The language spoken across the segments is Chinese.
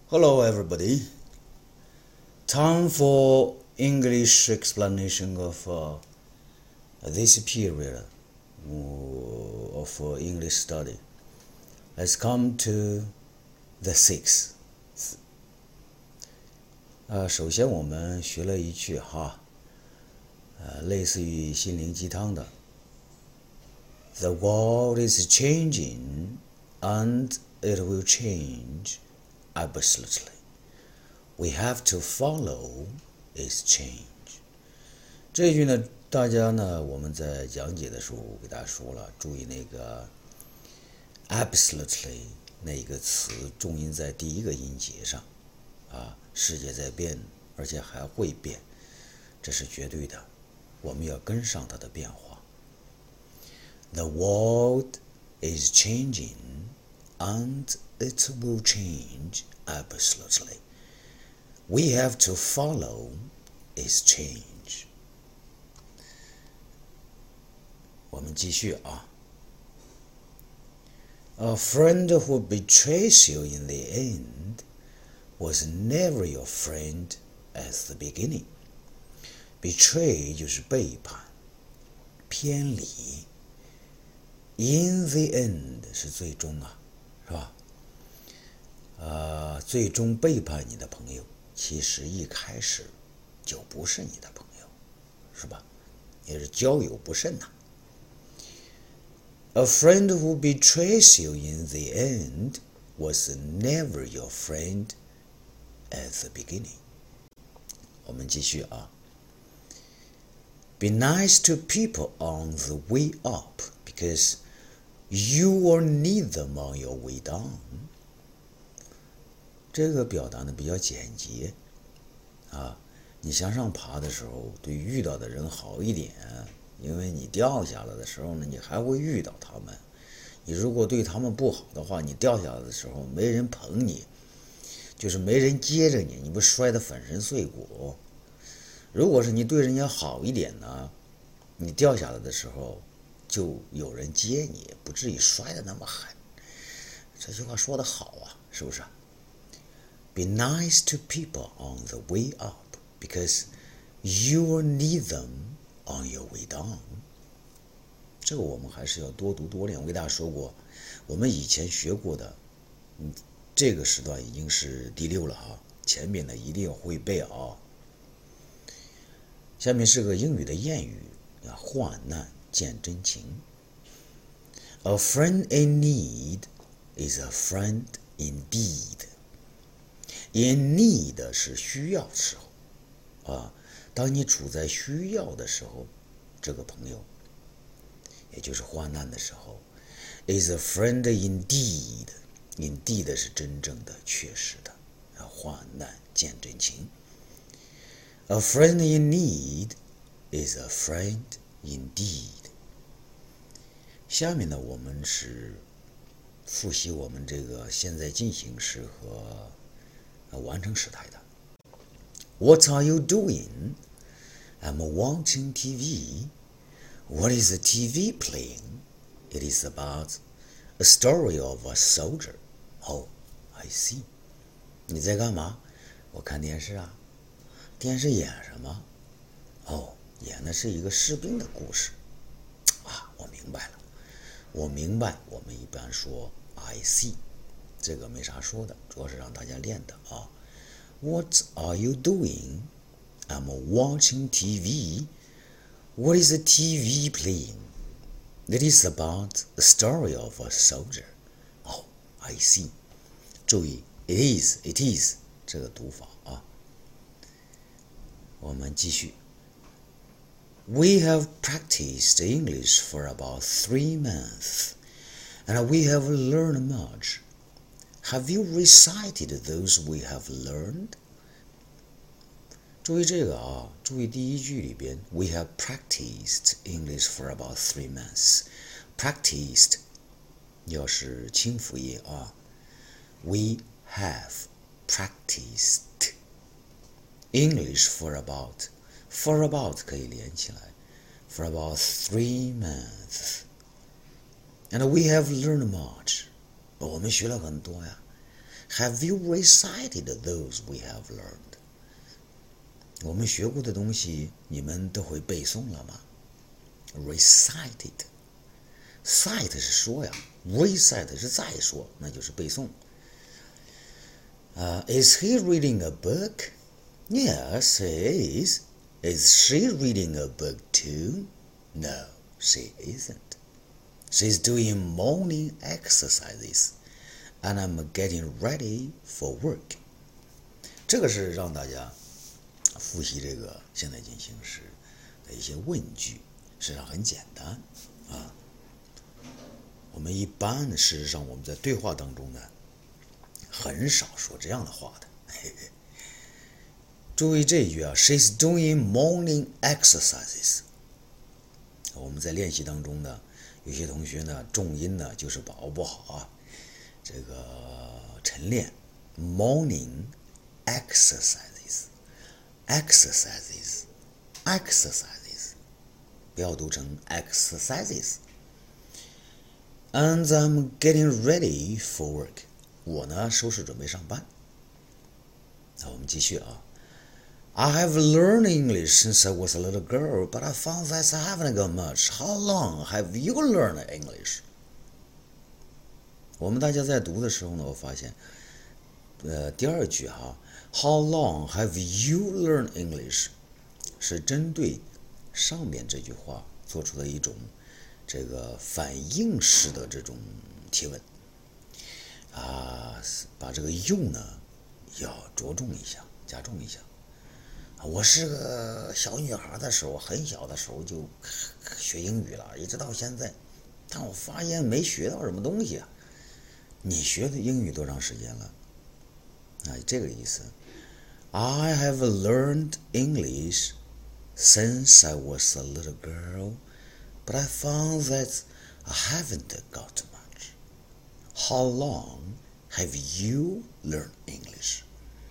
Hello everybody. Time for English explanation of this period of English study. Let's come to the sixth. 首先我们学了一句类似于心灵鸡汤的 The world is changing and it will change absolutely. We have to follow its change. 这一句呢，大家呢，我们在讲解的时候给大家说了，注意那个 absolutely 那一个词重音在第一个音节上世界在变，而且还会变，这是绝对的，我们要跟上它的变化。The world is changing and it will change absolutely. We have to follow its change. 我们继续A friend who betrays you in the end was never your friend at the beginning. Betray 就是背叛、偏离。In the end 是最终是吧？最终背叛你的朋友，其实一开始就不是你的朋友，是吧？也是交友不慎A friend who betrays you in the end was never your friend at the beginning. 我们继续Be nice to people on the way up because you will need them on your way down. 这个表达呢比较简洁你向上爬的时候对遇到的人好一点，因为你掉下来的时候呢你还会遇到他们，你如果对他们不好的话，你掉下来的时候没人捧你，就是没人接着你，你不摔得粉身碎骨。如果是你对人家好一点呢，你掉下来的时候就有人接你，不至于摔得那么狠。这句话说得好是不是？Be nice to people on the way up because you will need them on your way down. 这个我们还是要多读多练。我给大家说过，我们以前学过的，这个时段已经是第6了前面的一定要会背下面是个英语的谚语患难见真情。A friend in need is a friend indeed.In need 是需要的时候当你处在需要的时候，这个朋友也就是患难的时候 is a friend indeed. Indeed 是真正的确实的患难见真情。A friend in need is a friend indeed. 下面呢我们是复习我们这个现在进行时和完成时态的。What are you doing? I'm watching TV. What is the TV playing? It is about a story of a soldier. Oh, I see. 你在干嘛？我看电视电视演什么？演的是一个士兵的故事。我明白了。我明白，我们一般说 I see。这个没啥说的，主要是让大家练的What are you doing? I'm watching TV. What is the TV playing? It is about the story of a soldier. Oh, I see. 注意 it is 这个读法我们继续。We have practiced English for about 3 months, and we have learned much.Have you recited those we have learned? 注意这个注意第一句里边 We have practiced English for about 3 months. Practiced 要是清辅音We have practiced English for about 可以连起来 For about 3 months. And we have learned much.我们学了很多 Have you recited those we have learned? 我们学过的东西，你们都会背诵了吗 ？Recited， cite 是说呀 ，recite 是再说，那就是背诵。Is he reading a book? Yes, he is. Is she reading a book too? No, she isn't. She's doing morning exercises, and I'm getting ready for work. 这个是让大家复习这个现在进行时的一些问句，实际上很简单啊。我们一般事实上我们在对话当中呢，很少说这样的话的。注意这一句啊 ，She's doing morning exercises。我们在练习当中呢，有些同学呢重音呢就是把握不好啊，这个晨练 morning exercises， 不要读成 exercises。And I'm getting ready for work。我呢收拾准备上班。那我们继续啊。I have learned English since I was a little girl, but I found that I haven't got much. How long have you learned English? 我们大家在读的时候呢，我发现，第二句哈 ，How long have you learned English? 是针对上面这句话做出的一种这个反应式的这种提问啊，把这个用呢要着重一下，加重一下。我是个小女孩的时候，很小的时候就学英语了，一直到现在，但我发现没学到什么东西啊。你学的英语多长时间了？这个意思。I have learned English since I was a little girl, but I found that I haven't got much. How long have you learned English?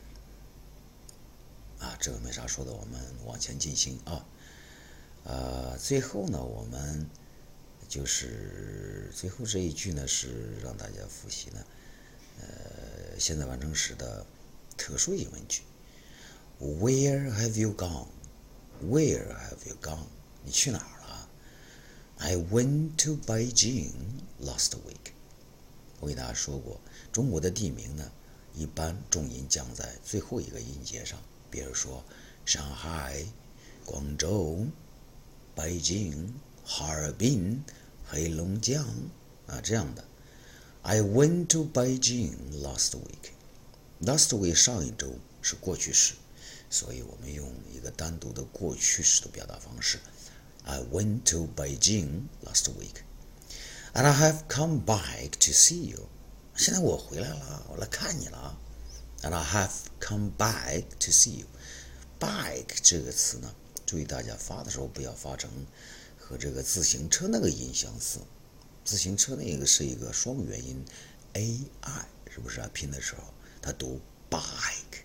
这个没啥说的，我们往前进行啊。最后呢，我们就是最后这一句呢，是让大家复习呢，现在完成时的特殊疑问句。Where have you gone? Where have you gone? 你去哪儿了 ？I went to Beijing last week. 我给大家说过，中国的地名呢，一般重音降在最后一个音节上。比如说上海、广州、北京、哈尔滨、黑龙江这样的。I went to Beijing last week. Last week 上一周是过去式，所以我们用一个单独的过去式的表达方式。I went to Beijing last week, and I have come back to see you. 现在我回来了，我来看你了。And I have come back to see you. Back 这个词呢，注意大家发的时候不要发成和这个自行车那个音相似。自行车那个是一个双元音 ai， 是不是啊？拼的时候它读 bike，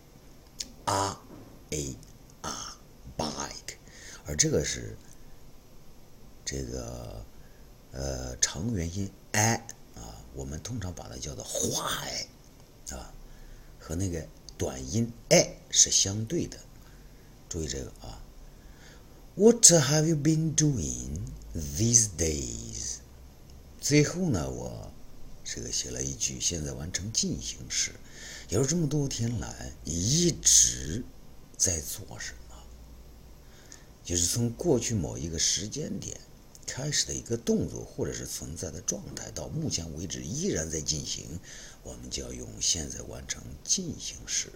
bike， 而这个是这个长元音 i 我们通常把它叫做花和那个短音 a 是相对的，注意这个啊。What have you been doing these days? 最后呢，我这个写了一句现在完成进行时，也就是这么多天来你一直在做什么，就是从过去某一个时间点开始的一个动作或者是存在的状态，到目前为止依然在进行，我们就要用现在完成进行时。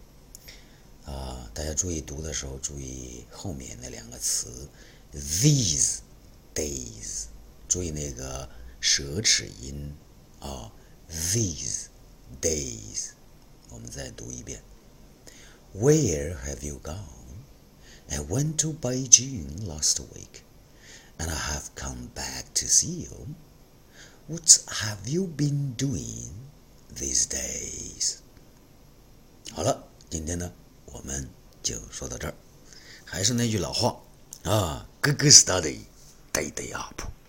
大家注意读的时候，注意后面那两个词 these days， 注意那个舌齿音these days。我们再读一遍 Where have you gone? I went to Beijing last week, and I have come back to see you. What have you been doing these days? 好了，今天呢我们就说到这儿，还是那句老话good study, day up。